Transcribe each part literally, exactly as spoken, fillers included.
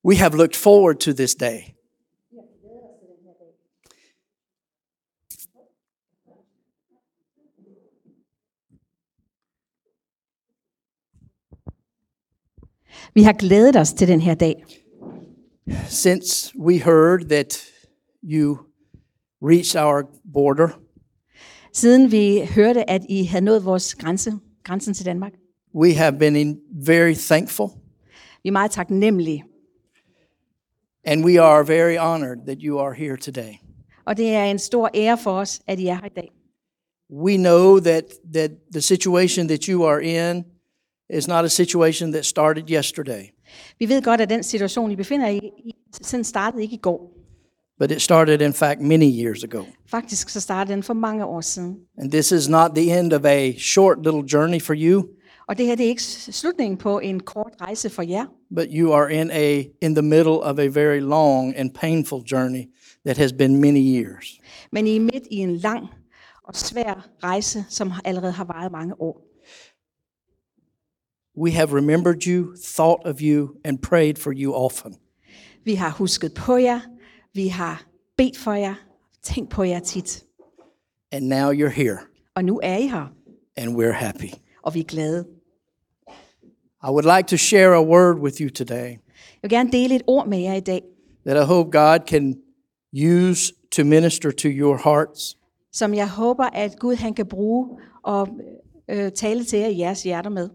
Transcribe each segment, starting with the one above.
We have looked forward to this day. Vi har glædet os til den her dag. Since we heard that you reached our border, Siden vi hørte, at I havde nået vores grænse, grænsen til Danmark. we have been in very thankful, Vi er meget taknemmelige. and we are very honored that you are here today. Og det er en stor ære for os, at I er her i dag. We know that that the situation that you are in is not a situation that started yesterday, Vi ved godt, at den situation, I befinder jer i, sådan startede ikke i går. but it started in fact many years ago. Faktisk så startede den for mange år siden. And this is not the end of a short little journey for you, Og det her det er ikke slutningen på en kort rejse for jer, but you are in a in the middle of a very long and painful journey that has been many years. men I er midt i en lang og svær rejse, som allerede har varet mange år. We have remembered you, thought of you, and prayed for you often. Vi har husket på jer, vi har bedt for jer, tænkt på jer tit. And now you're here, Og nu er I her, and we're happy. og vi er glade. I would like to share a word with you today Jeg vil gerne dele et ord med jer i dag, that I hope God can use to minister to your hearts. som jeg håber, at Gud han kan bruge og øh, tale til jer i jeres hjerter med.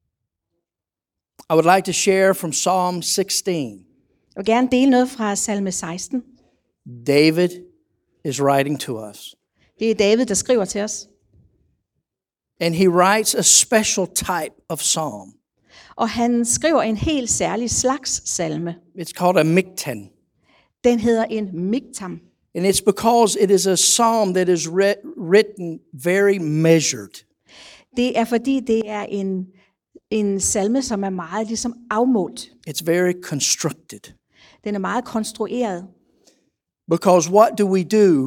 I would like to share from Psalm sixteen. Jeg vil gerne dele noget fra salme seksten. David is writing to us, Det er David, der skriver til os. and he writes a special type of psalm. Og han skriver en helt særlig slags salme. It's called a miktan, Den hedder en miktam. and it's because it is a psalm that is writ- written very measured. Det er fordi, det er en, en salme, som er meget ligesom afmålt. It's very constructed. Den er meget konstrueret. Because what do we do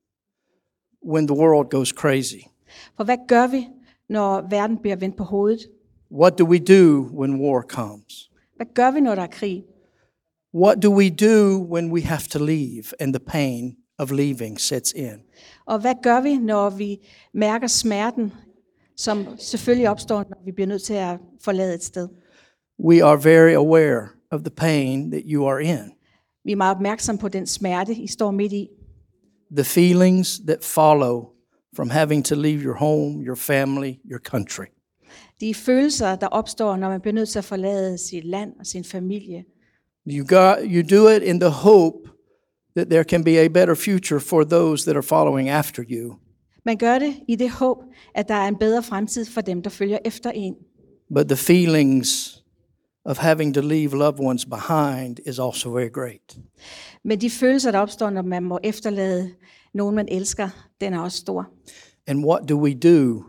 when the world goes crazy? For hvad gør vi, når verden bliver vendt på hovedet? What do we do when war comes? Hvad gør vi, når der er krig? What do we do when we have to leave and the pain of leaving sets in? Og hvad gør vi, når vi mærker smerten, som selvfølgelig opstår, når vi bliver nødt til at forlade et sted? We are very aware of the pain that you are in, Vi er meget opmærksomme på den smerte, I står midt i. the feelings that follow from having to leave your home, your family, your country. De følelser, der opstår, når man bliver nødt til at forlade sit land og sin familie. You got you do it in the hope that there can be a better future for those that are following after you. Man gør det i det håb, at der er en bedre fremtid for dem, der følger efter en. But the feelings of having to leave loved ones behind is also very great. Men de følelser, der opstår, når man må efterlade nogen, man elsker, den er også stor. And what do we do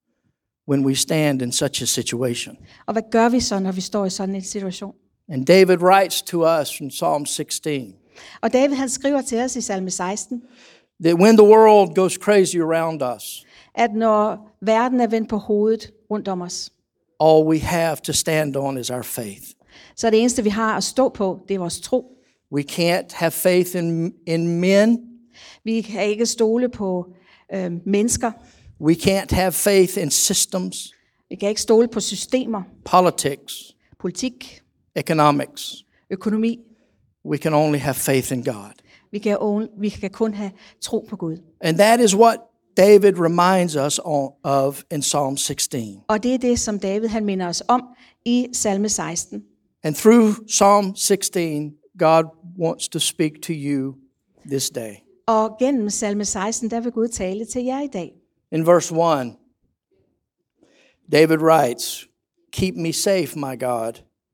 when we stand in such a situation? Og hvad gør vi så, når vi står i sådan en situation? And David writes to us from Psalm sixteen Og David han skriver til os i salme seksten, that when the world goes crazy around us, at når verden er vendt på hovedet rundt om os, all we have to stand on is our faith. så er det eneste, vi har at stå på, det er vores tro. We can't have faith in, in men. Vi kan ikke stole på øh, mennesker. We can't have faith in systems, Vi kan ikke stole på systemer, politics, politik, economics. økonomi. We can only have faith in God. Vi kan, on- vi kan kun have tro på Gud. And that is what David reminds us on, of in Psalm sixteen. Og det er det, som David han minder os om i salme seksten. And through Psalm sixteen, God wants to speak to you this day. Og gennem salme seksten, der vil Gud tale til jer i dag. In verse one, David writes, "Keep me safe, my God,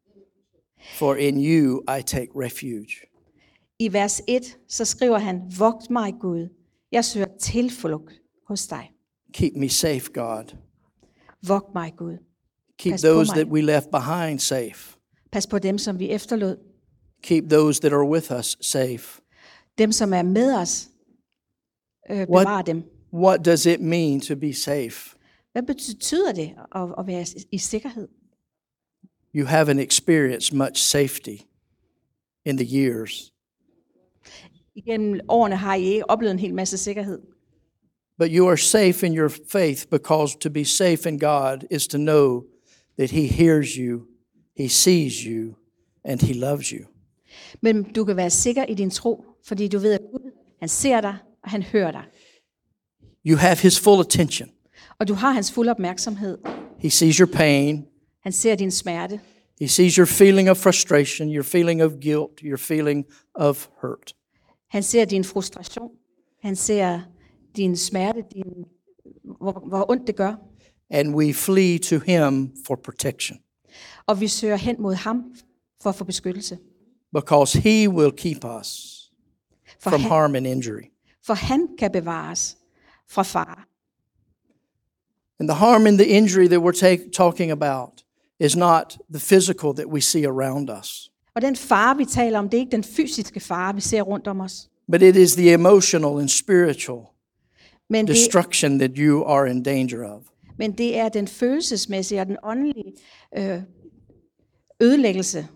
for in you I take refuge." I vers et, så skriver han, vogt mig Gud, jeg søger tilflugt hos dig. Keep me safe, God. Vogt mig Gud. Keep Pas på those mig. that we left behind safe. Pas på dem, som vi efterlod. Keep those that are with us safe. Dem, som er med os, øh, bevar dem. What does it mean to be safe? Hvad betyder det at, at være i sikkerhed? You haven't experienced much safety in the years. Igennem årene har I ikke oplevet en hel masse sikkerhed. But you are safe in your faith, because to be safe in God is to know that He hears you, He sees you, and He loves you. Men du kan være sikker i din tro, fordi du ved, at Gud, han ser dig, og han hører dig. You have His full attention. Og du har hans fulde opmærksomhed. He sees your pain. Han ser din smerte. He sees your feeling of frustration, your feeling of guilt, your feeling of hurt. Han ser din frustration. Han ser din smerte, din, hvor, hvor ondt det gør. And we flee to Him for protection, Og vi søger hen mod ham for at få beskyttelse. because He will keep us For from han, harm and injury. for han kan bevare os fra fare. And the harm and the injury that we're take, talking about is not the physical that we see around us, Og den fare, vi taler om, det er ikke den fysiske fare, vi ser rundt om os. but it is the emotional and spiritual Men det, destruction that you are in danger of. men det er den følelsesmæssige og den åndelige øh, ødelæggelse.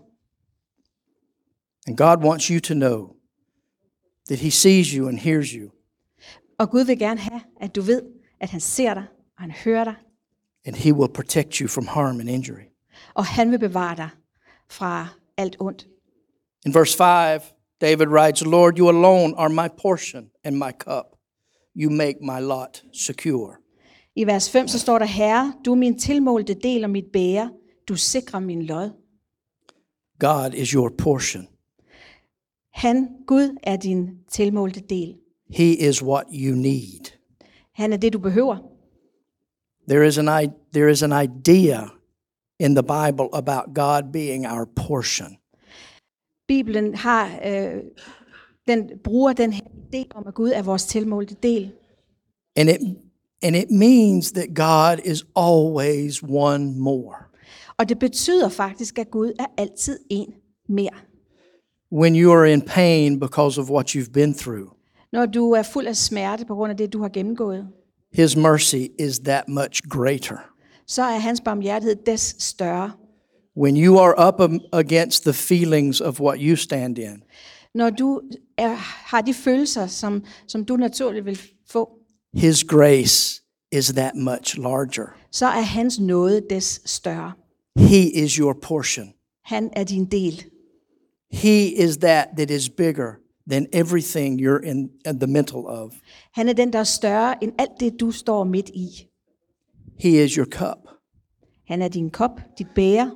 And God wants you to know that He sees you and hears you, Og Gud vil gerne have, at du ved, at han ser dig, og han hører dig, and He will protect you from harm and injury. og han vil bevare dig fra alt ondt. In verse five, David writes, Lord, you alone are my portion and my cup. You make my lot secure. I vers fem så står der, Herre, du er min tilmålte del og mit bære, du sikrer min lod. God is your portion. Han, Gud, er din tilmålte del. He is what you need. Han er det, du behøver. There is an i- there is an idea in the Bible about God being our portion. Bibelen har, øh, den bruger den her idé om, at Gud er vores tilmålte del. And it and it means that God is always one more. Og det betyder faktisk, at Gud er altid en mere. When you are in pain because of what you've been through, Når du er fuld af smerte på grund af det, du har gennemgået, His mercy is that much greater. så er hans barmhjertighed des større. When you are up am- against the feelings of what you stand in, Når du er, har de følelser, som, som du naturligt vil få, His grace is that much larger. så er hans nåde des større. He is your portion. Han er din del. He is that that is bigger than everything you're in, in the mental of. Han er den, der er større end alt det, du står midt i. He is your cup. Han er din kop, dit bære.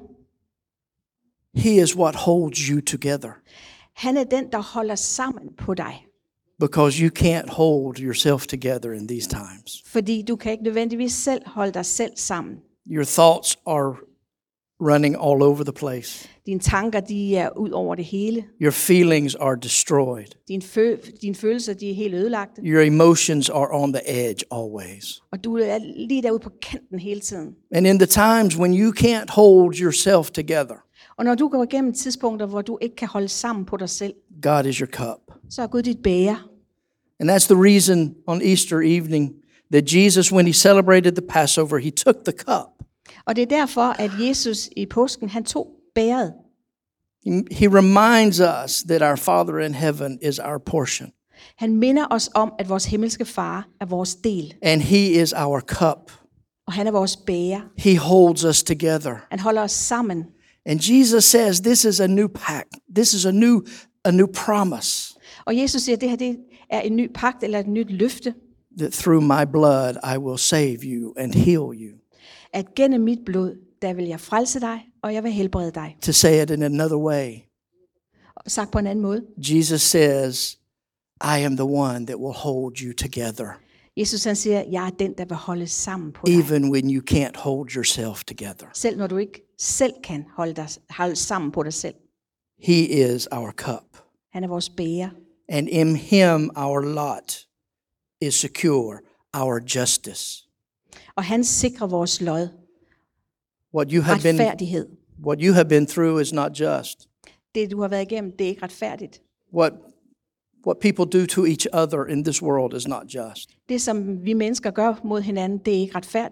He is what holds you together, Han er den, der holder sammen på dig. because you can't hold yourself together in these times. Fordi du kan ikke nødvendigvis selv holde dig selv sammen. Your thoughts are running all over the place. Dine tanker, de er ud over det hele. Your feelings are destroyed. Dine, fø- dine følelser, de er helt ødelagte. Your emotions are on the edge always. Og du er lige derude på kanten hele tiden. And in the times when you can't hold yourself together, Og når du går igennem tidspunkter, hvor du ikke kan holde sammen på dig selv, God is your cup. så er Gud dit bære. And that's the reason on Easter evening that Jesus, when He celebrated the Passover, He took the cup. Og det er derfor, at Jesus i påsken, han tog bæret. He he reminds us that our Father in heaven is our portion, Han minder os om, at vores himmelske far er vores del. and He is our cup. Og han er vores bære. He holds us together. Han holder os sammen. And Jesus says this is a new pact. This is a new a new promise Og Jesus siger, at det her det er en ny pagt eller et nyt løfte, that through my blood I will save you and heal you. at gennem mit blod, der vil jeg frelse dig, og jeg vil helbrede dig. To say it in another way, Og sagt på en anden måde. Jesus says, I am the one that will hold you together, Jesus han siger, jeg er den, der vil holde sammen på dig. even when you can't hold yourself together. Selv når du ikke selv kan holde, dig, holde sammen på dig selv. He is our cup. Han er vores bære. And in Him our lot is secure, our justice. Og han sikrer vores lod. What you have been Retfærdighed. what you have been through is not just. Det du har været igennem, det er ikke retfærdigt. What what people do to each other in this world is not just. Det som vi mennesker gør mod hinanden, det er ikke retfærdigt.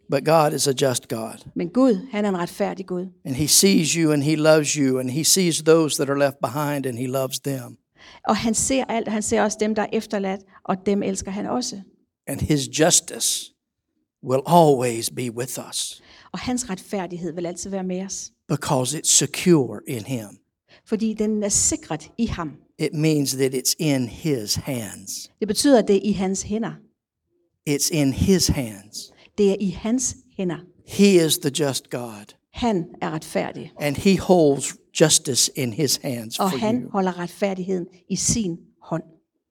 But God is a just God. Men Gud, han er en retfærdig Gud. And he sees you and he loves you and he sees those that are left behind and he loves them. Og han ser alt, han ser også dem, der er efterladt, og dem elsker han også. And his justice will always be with us Og hans retfærdighed vil altid være med os, because it's secure in him. fordi den er sikret i ham. It means that it's in his hands. Det betyder, at det er i hans hænder. It's in his hands. Det er i hans hænder. He is the just God. Han er retfærdig, And he holds justice in his hands og for han you. holder retfærdigheden i sin hånd.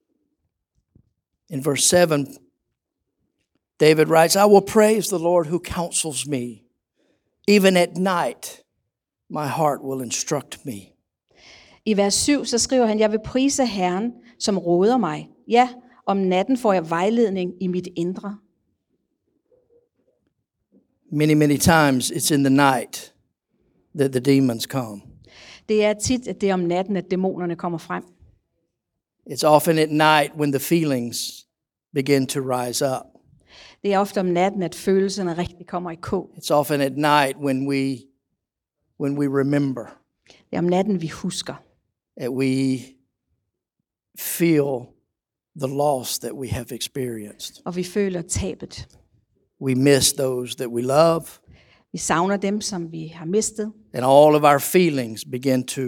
In verse seven, David writes, I will praise the Lord who counsels me. Even at night, my heart will instruct me. I vers syv, så skriver han, jeg vil prise Herren, som råder mig. Ja, om natten får jeg vejledning i mit indre. Many, many times it's in the night that the demons come. Det er tit, at det er om natten, at dæmonerne kommer frem. It's often at night when the feelings begin to rise up. Det er ofte om natten, at følelserne rigtig kommer i kog. It's often at night when we when we remember, Det er om natten, vi husker. that we feel the loss that we have experienced. Og vi føler tabet. We miss those that we love, Vi savner dem, som vi har mistet. and all of our feelings begin to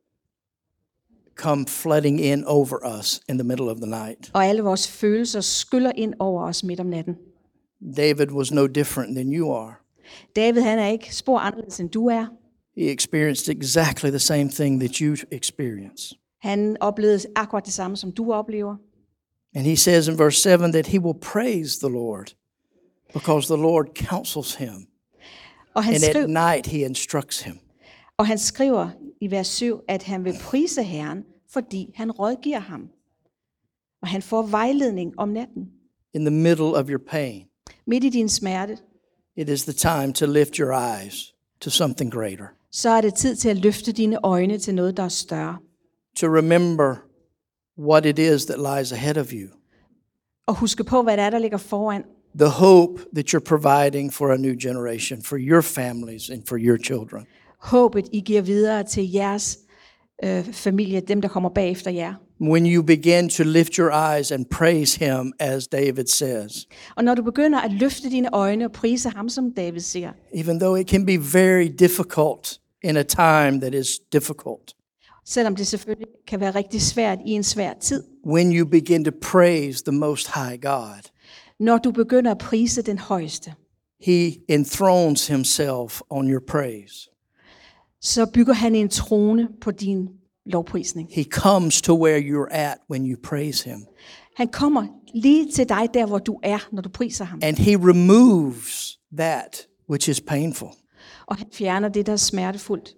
come flooding in over us in the middle of the night. Og alle vores følelser skyller ind over os midt om natten. David was no different than you are. David, han er ikke spor anderledes, end du er. He experienced exactly the same thing that you experience. Han oplevede akkurat det samme, som du oplever. And he says in verse seven that he will praise the Lord because the Lord counsels him. Og han, And at skriver, night he instructs him. og han skriver i vers syv, at han vil prise Herren, fordi han rådgiver ham. Og han får vejledning om natten. In the middle of your pain, Midt i din smerte, it is the time to lift your eyes to something greater. så er det tid til at løfte dine øjne til noget, der er større. To remember what it is that lies ahead of you. Og huske på, hvad det er, der ligger foran. The hope that you're providing for a new generation, for your families and for your children. Håbet, I giver videre til jeres øh, familie, dem, der kommer bagefter jer. When you begin to lift your eyes and praise him, as David says, Og når du begynder at løfte dine øjne og prise ham, som David siger, even though it can be very difficult in a time that is difficult, selvom det selvfølgelig kan være rigtig svært i en svær tid, when you begin to praise the Most High God, når du begynder at prise den højeste, he enthrones himself on your praise. så bygger han en trone på din lovprisning. He comes to where you're at when you praise him. Han kommer lige til dig der, hvor du er, når du priser ham. And he removes that which is painful. Og han fjerner det, der er smertefuldt.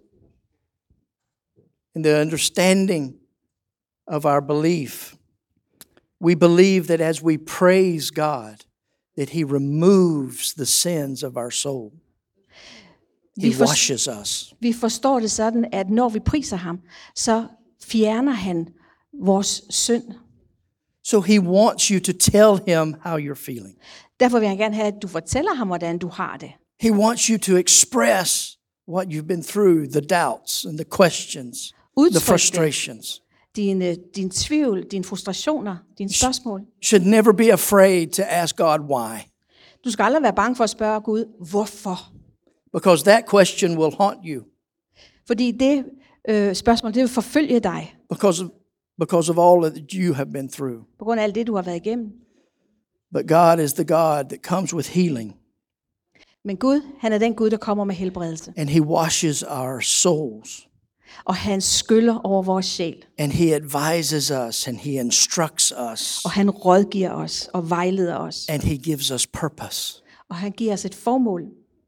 In the understanding of our belief, we believe that as we praise God, that he removes the sins of our soul. He Vi, for, washes us. vi forstår det sådan, at når vi priser ham, så fjerner han vores synd. So he wants you to tell him how you're feeling. Derfor vil han gerne have, at du fortæller ham, hvordan du har det. He wants you to express what you've been through, the doubts and the questions, the Udtryk det. frustrations. Din, din tvivl, dine frustrationer, dine spørgsmål. Should never be afraid to ask God why, Du skal aldrig være bange for at spørge Gud, hvorfor? because that question will haunt you Fordi det øh, spørgsmål, det vil forfølge dig, because of, because of all that you have been through. på grund af alt det, du har været igennem. But God is the God that comes with healing, Men Gud, han er den Gud, der kommer med helbredelse. and he washes our souls, Og han skyller over vores sjæl. and he advises us, and he instructs us, Og han rådgiver os og vejleder os. and he gives us purpose. Og han giver os et formål.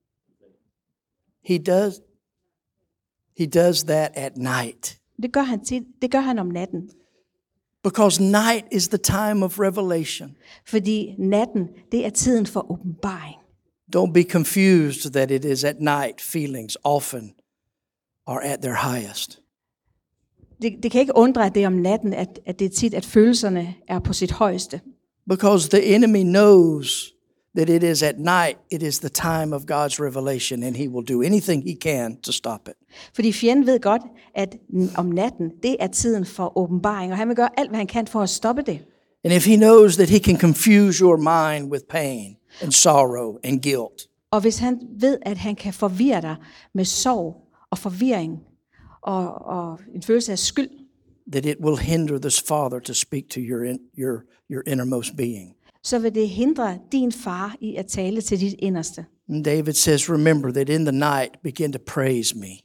He does he does that at night, Det gør han tit. Det gør han om natten. because night is the time of revelation. Fordi natten, det er tiden for åbenbaring. Don't be confused that it is at night feelings often are at their highest. Det, det kan ikke undre, at det er om natten, at, at det er tit, at følelserne er på sit højeste. Because the enemy knows that it is at night, it is the time of God's revelation, and he will do anything he can to stop it. Fordi fjenden ved godt, at om natten, det er tiden for åbenbaring, og han vil gøre alt, hvad han kan for at stoppe det. And if he knows that he can confuse your mind with pain and sorrow and guilt, Og hvis han ved, at han kan forvirre dig med sorg og forvirring og, og en følelse af skyld, that it will hinder this Father to speak to your in, your your innermost being. så vil det hindre din far i at tale til dit inderste. And David says, remember that in the night begin to praise me.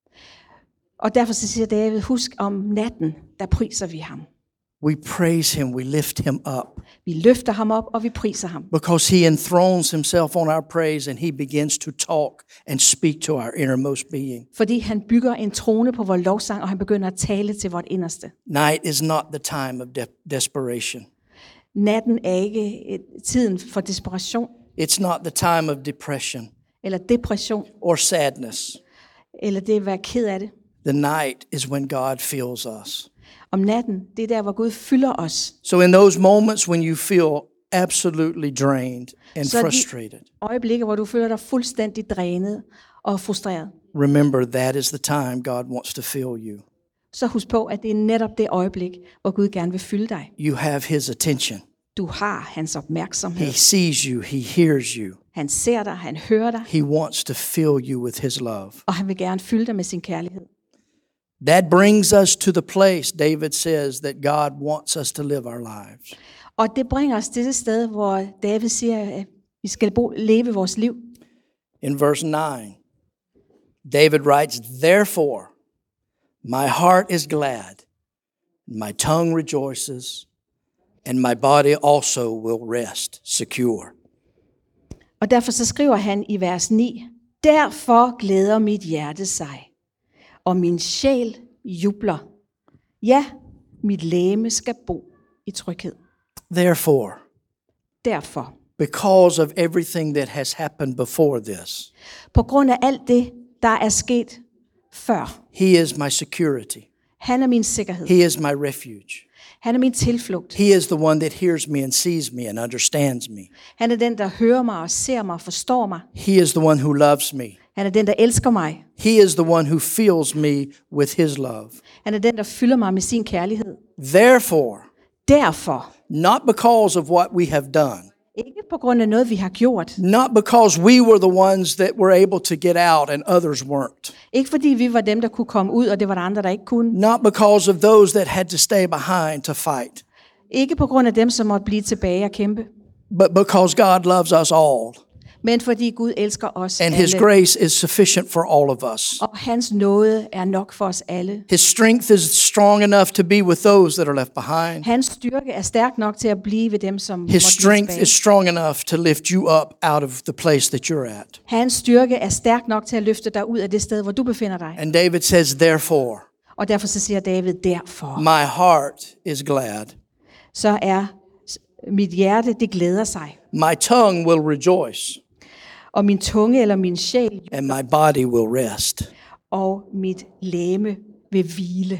Og derfor så siger David, husk om natten, der priser vi ham. We praise him, we lift him up, Vi løfter ham op, og vi priser ham. because he enthrones himself on our praise and he begins to talk and speak to our innermost being. Fordi han bygger en trone på vores lovsang, og han begynder at tale til vores inderste. Night is not the time of de- desperation. Natten er ikke et, tiden for desperation It's not the time of depression eller depression, or sadness. eller det at være ked af det. The night is when God fills us. Om natten, det er der, hvor Gud fylder os. So in those moments when you feel absolutely drained and Så de frustrated, øjeblikke, hvor du føler dig fuldstændig drænet og frustreret, remember that is the time God wants to fill you. så husk på, at det er netop det øjeblik, hvor Gud gerne vil fylde dig. You have his attention. Du har hans opmærksomhed. He sees you, he hears you. Han ser dig, han hører dig, He wants to fill you with his love. og han vil gerne fylde dig med sin kærlighed. That brings us to the place David says that God wants us to live our lives. Og det bringer os til det sted, hvor David siger, at vi skal bo, leve vores liv. In verse nine, David writes, therefore, my heart is glad, my tongue rejoices, and my body also will rest secure. Og derfor så skriver han i vers ni, derfor glæder mit hjerte sig, og min sjæl jubler. Ja, mit legeme skal bo i tryghed. Therefore, Derfor, because of everything that has happened before this, på grund af alt det, der er sket før, he is my security. han er min sikkerhed. He is my refuge. Han er min tilflugt. He is the one that hears me and sees me and understands me. Han er den, der hører mig og ser mig og forstår mig. He is the one who loves me. Han er den, der elsker mig. He is the one who fills me with his love. Han er den, der fylder mig med sin kærlighed. Therefore, Derfor, not because of what we have done, ikke på grund af noget, vi har gjort. not because we were the ones that were able to get out and others weren't, Ikke fordi vi var dem, der kunne komme ud, og det var der andre, der ikke kunne. not because of those that had to stay behind to fight, Ikke på grund af dem, som måtte blive tilbage og kæmpe. but because God loves us all Men fordi Gud elsker os and his alle. grace is sufficient for all of us. Og hans nåde er nok for os alle. His strength is strong enough to be with those that are left behind. Hans styrke er stærk nok til at blive ved dem, som måtte His blive strength tilbage. is strong enough to lift you up out of the place that you're at. Hans styrke er stærk nok til at løfte dig ud af det sted, hvor du befinder dig. And David says, therefore, Og derfor så siger David, derfor. my heart is glad. Så er mit hjerte, det glæder sig. My tongue will rejoice, Og min tunge eller min sjæl and my body will rest. og mit læme vil hvile.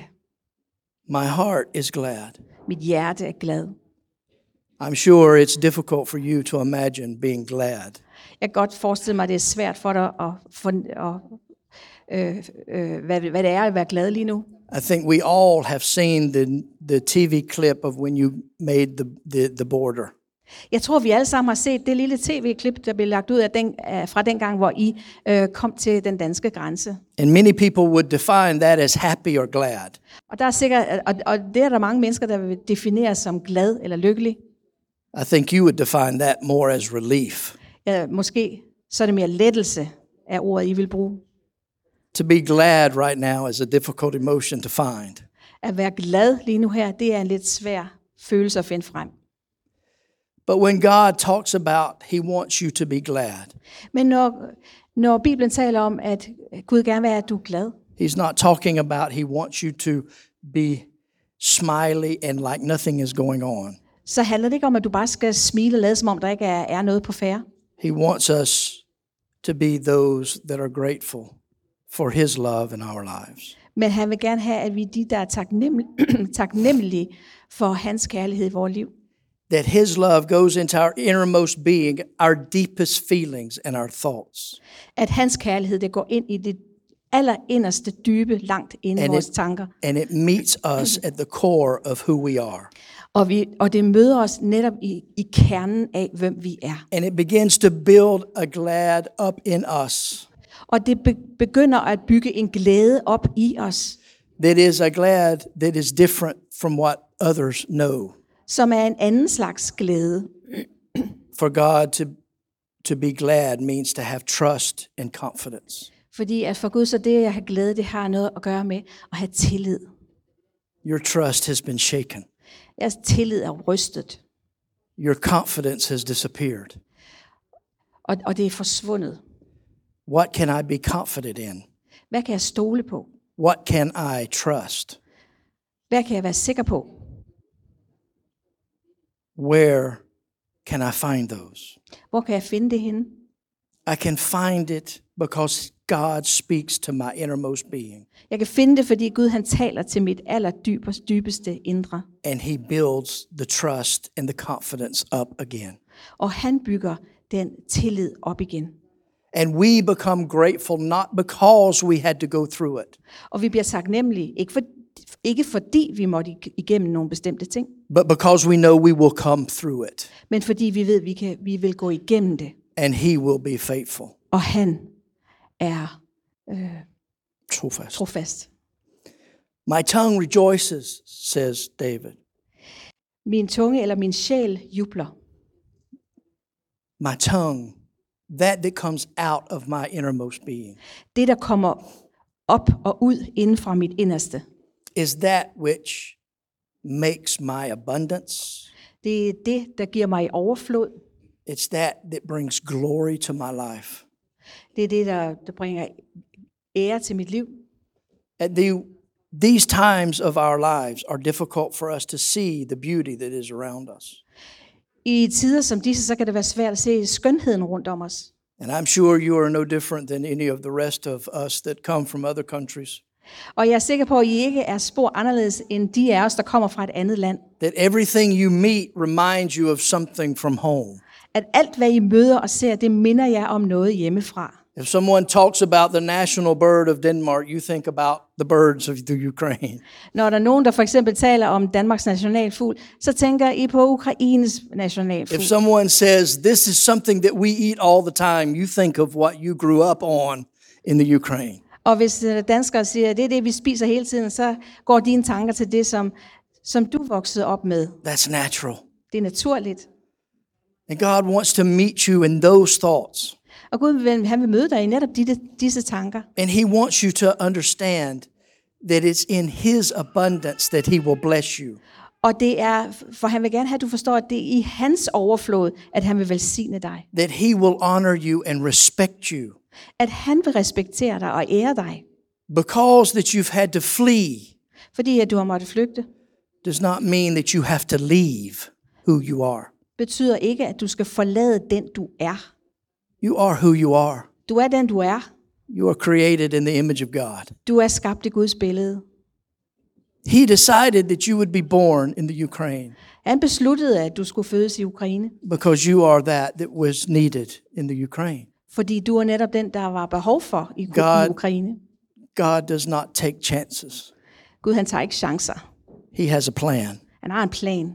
My heart is glad. Mit hjerte er glad. I'm sure it's difficult for you to imagine being glad. Jeg kan godt forestille mig, at det er svært for dig at, for, at øh, øh, hvad, hvad det er at være glad lige nu. I think we all have seen the, the T V clip of when you made the, the, the border. Jeg tror, vi alle sammen har set det lille tv-klip, der blev lagt ud af den, fra den gang, hvor I øh, kom til den danske grænse. And many people would define that as happy or glad. Og der er sikkert, og, og det er der mange mennesker, der vil definere som glad eller lykkelig. I think you would define that more as relief. Ja, måske så er det mere lettelse af ordet, I vil bruge. To be glad right now is a difficult emotion to find. At være glad lige nu her, det er en lidt svær følelse at finde frem. But when God talks about he wants you to be glad, Men når, når Bibelen taler om, at Gud gerne vil have, at du er glad, he's not talking about he wants you to be smiley and like nothing is going on. så handler det ikke om, at du bare skal smile og lade, som om der ikke er, er noget på færde. He wants us to be those that are grateful for his love in our lives. Men han vil gerne have, at vi er de, der er taknemmelige, taknemmelige for hans kærlighed i vores liv. that his love goes into our innermost being, our deepest feelings and our thoughts. At hans kærlighed, det går ind i det allerinderste dybe, langt inde i And vores it, tanker. and it meets us at the core of who we are. Og, vi, og det møder os netop i, i kernen af, hvem vi er. And it begins to build a glad up in us. Og det be, begynder at bygge en glæde op i os, That is a glad that is different from what others know. som er en anden slags glæde. For God to, to be glad means to have trust and confidence. Fordi at for Gud, så det at have glæde, det har noget at gøre med at have tillid. Your trust has been shaken. Jeres tillid er rystet, Your confidence has disappeared. og, og det er forsvundet. What can I be confident in? Hvad kan jeg stole på? What can I trust? Hvad kan jeg være sikker på? Where can I find those? Hvor kan jeg finde det henne? I can find it because God speaks to my innermost being, Jeg kan finde det, fordi Gud han taler til mit allerdybeste dybeste indre. and he builds the trust and the confidence up again. Og han bygger den tillid op igen. And we become grateful not because we had to go through it, Og vi bliver taknemmelige, ikke, for, ikke fordi vi måtte igennem nogle bestemte ting, but because we know we will come through it, men fordi vi ved, at vi, kan, vi vil gå igennem det. and he will be faithful. Og han er Trofast. trofast. My tongue rejoices, says David. Min tunge eller min sjæl jubler. My tongue, that that comes out of my innermost being, Det, der kommer op og ud inden fra mit inderste, is that which makes my abundance. det er det, der giver mig overflod. It's that that brings glory to my life. Det er det, der, der bringer ære til mit liv. At the, these times of our lives are difficult for us to see the beauty that is around us. I tider som disse, så kan det være svært at se skønheden rundt om os. And I'm sure you are no different than any of the rest of us that come from other countries. Og jeg er sikker på, at I ikke er spor anderledes end de af os, der kommer fra et andet land. That everything you meet reminds you of something from home. At alt, hvad I møder og ser, det minder jer om noget hjemmefra. If someone talks about the national bird of Denmark, you think about the birds of the Ukraine. Når der er nogen, der for eksempel taler om Danmarks nationalfugl, så tænker I på Ukraines nationalfugl. If someone says this is something that we eat all the time, you think of what you grew up on in the Ukraine. Og hvis danskere siger, at det er det, vi spiser hele tiden, så går dine tanker til det, som, som du voksede op med. That's natural. Det er naturligt. And God wants to meet you in those thoughts. Og Gud vil, han vil møde dig i netop disse, disse tanker. And he wants you to understand that it's in his abundance that he will bless you. Og det er, for han vil gerne have, at du forstår, at det er i hans overflod, at han vil velsigne dig. That he will honor you and respect you. At han vil respektere dig og ære dig. Because that you've had to flee Fordi at du har måttet flygte, does not mean that you have to leave who you are. betyder ikke, at du skal forlade den, du er. You are who you are. Du er den, du er. You are created in the image of God. Du er skabt i Guds billede. He decided that you would be born in the Ukraine Han besluttede, at du skulle fødes i Ukraine, because you are that that was needed in the Ukraine. fordi du er netop den, der var behov for i, God- i Ukraine. God does not take chances. Gud, han tager ikke chancer. He has a plan. Han har en plan.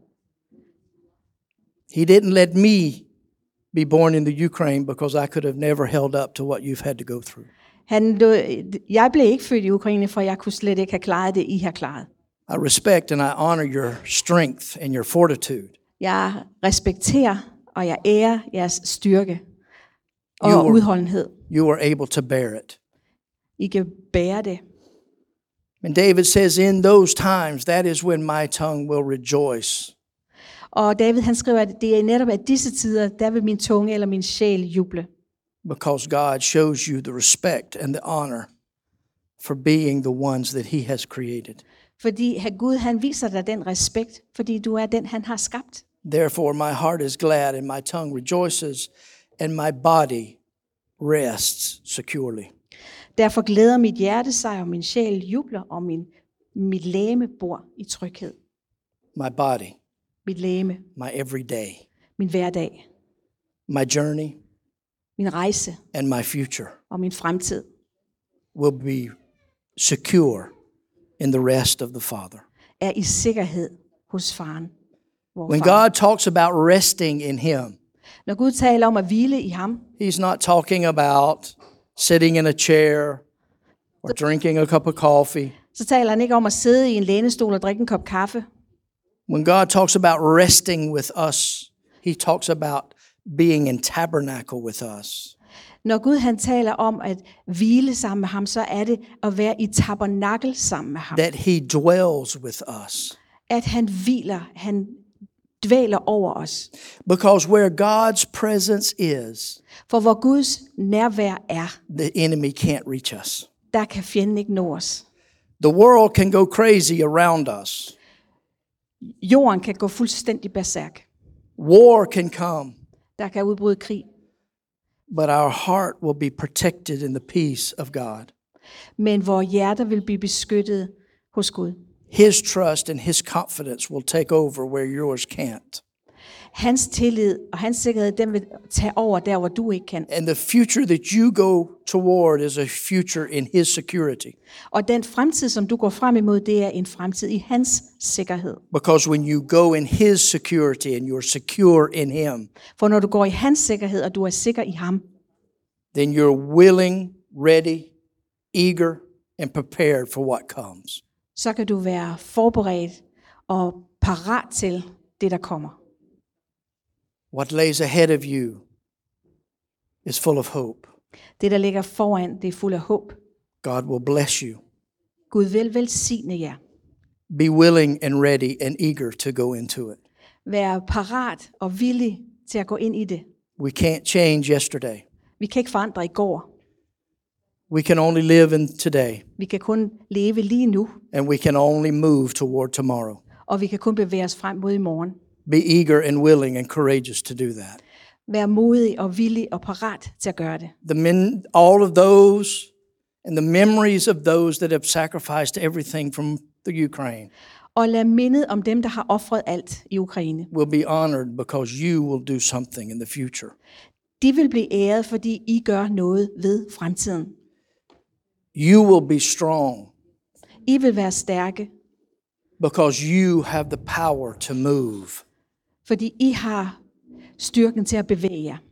He didn't let me be born in the Ukraine because I could have never held up to what you've had to go through. Han, du, jeg blev ikke født i Ukraine, for jeg kunne slet ikke have klaret det, I har klaret. I respect and I honor your strength and your fortitude. Jeg respekterer og jeg ærer jeres styrke og You were- udholdenhed. You were able to bear it. I kan bære det. And David says, in those times, that is when my tongue will rejoice. Og David han skriver, at det er netop af disse tider, der vil min tunge eller min sjæl juble. Because God shows you the respect and the honor for being the ones that he has created. Fordi her Gud han viser dig den respekt, fordi du er den, han har skabt. Therefore, my heart is glad and my tongue rejoices and my body rests securely. Derfor glæder mit hjerte sig, og min sjæl jubler, og min, mit læme bor i tryghed. My body. mit legeme, my everyday, min hverdag, my journey, min rejse and my future og min fremtid will be secure in the rest of the Father. er i sikkerhed hos faren. Vor When far. God talks about resting in Him, Når Gud taler om at hvile i ham, He's not talking about sitting in a chair or drinking a cup of coffee. så taler han ikke om at sidde i en lænestol og drikke en kop kaffe. When God talks about resting with us, He talks about being in tabernacle with us. Når Gud han taler om at hvile sammen med ham, så er det at være i tabernakel sammen med ham. That He dwells with us. At han hviler, han dvæler over os. Because where God's presence is, For hvor Guds nærvær er, the enemy can't reach us. der kan fjenden ikke nå os. The world can go crazy around us. Jorden kan gå fuldstændig berserk. War can come, Der kan udbryde krig. but our heart will be protected in the peace of God. Men vores hjerter vil blive beskyttet hos Gud. His trust and His confidence will take over where yours can't. Hans tillid og hans sikkerhed, den vil tage over der, hvor du ikke kan. And the future that you go toward is a future in His security. Og den fremtid, som du går frem imod, det er en fremtid i hans sikkerhed. Because when you go in His security and you're secure in Him, For når du går i hans sikkerhed, og du er sikker i ham, then you're willing, ready, eager, and prepared for what comes. så kan du være forberedt og parat til det, der kommer. What lays ahead of you is full of hope. Det, der ligger foran, det er fuld af håb. God will bless you. Gud vil velsigne jer. Be willing and ready and eager to go into it. Vær parat og villig til at gå ind i det. We can't change yesterday. Vi kan ikke forandre i går. We can only live in today, Vi kan kun leve lige nu, and we can only move toward tomorrow. og vi kan kun bevæge os frem mod i morgen. Be eager and willing and courageous to do that. Vær modig og villig og parat til at gøre det. The men, all of those and the memories of those that have sacrificed everything from the Ukraine Og lad mindet om dem, der har ofret alt i Ukraine. will be honored because you will do something in the future. De vil blive æret, fordi I gør noget ved fremtiden. You will be strong I vil være stærke, because you have the power to move. fordi I har styrken til at bevæge jer.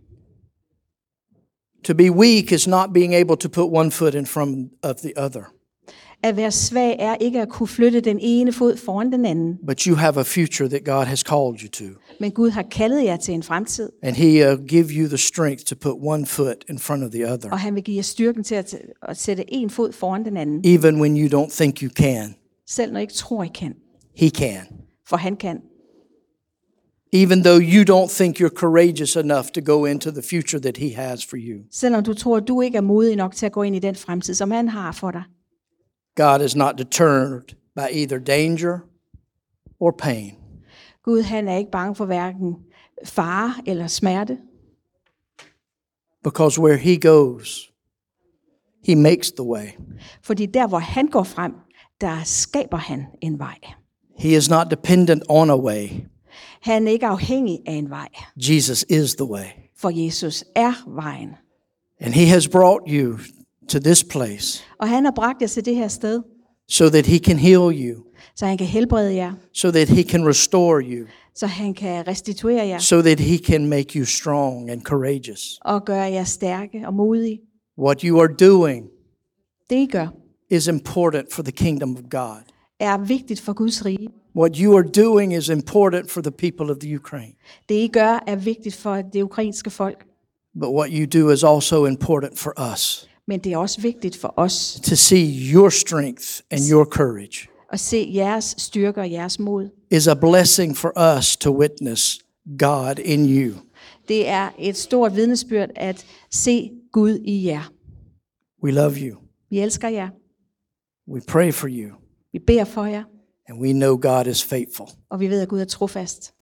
To be weak is not being able to put one foot in front of the other, At være svag er ikke at kunne flytte den ene fod foran den anden. but you have a future that God has called you to. Men Gud har kaldet jer til en fremtid, And He uh, give you the strength to put one foot in front of the other, og han vil give jer styrken til at, at sætte en fod foran den anden. even when you don't think you can. Selv når I ikke tror, I kan. He can. For han kan. Even though you don't think you're courageous enough to go into the future that He has for you. Selvom du tror, at du ikke er modig nok til at gå ind i den fremtid, som han har for dig. God is not deterred by either danger or pain. Gud, han er ikke bange for hverken fare eller smerte. Because where He goes, He makes the way. Fordi der, hvor han går frem, der skaber han en vej. He is not dependent on a way. Han er ikke afhængig af en vej, Jesus is the way. for Jesus er vejen. And He has brought you to this place Og han har bragt jer til det her sted, so that He can heal you, så han kan helbrede jer, so that He can restore you, så han kan restituere jer so that He can make you strong and courageous. og gøre jer stærke og modige. What you are doing Det I gør, is important for the kingdom of God. er vigtigt for Guds rige. What you are doing is important for the people of the Ukraine. Det I gør, er vigtigt for det ukrainske folk. But what you do is also important for us Men det er også vigtigt for os to see your strength and your courage at se jeres styrke og jeres mod. is a blessing for us to witness God in you. Det er et stort vidnesbyrd at se Gud i jer. We love you. Vi elsker jer. We pray for you. Vi beder for jer, And we know God is faithful. og vi ved, at Gud er trofast.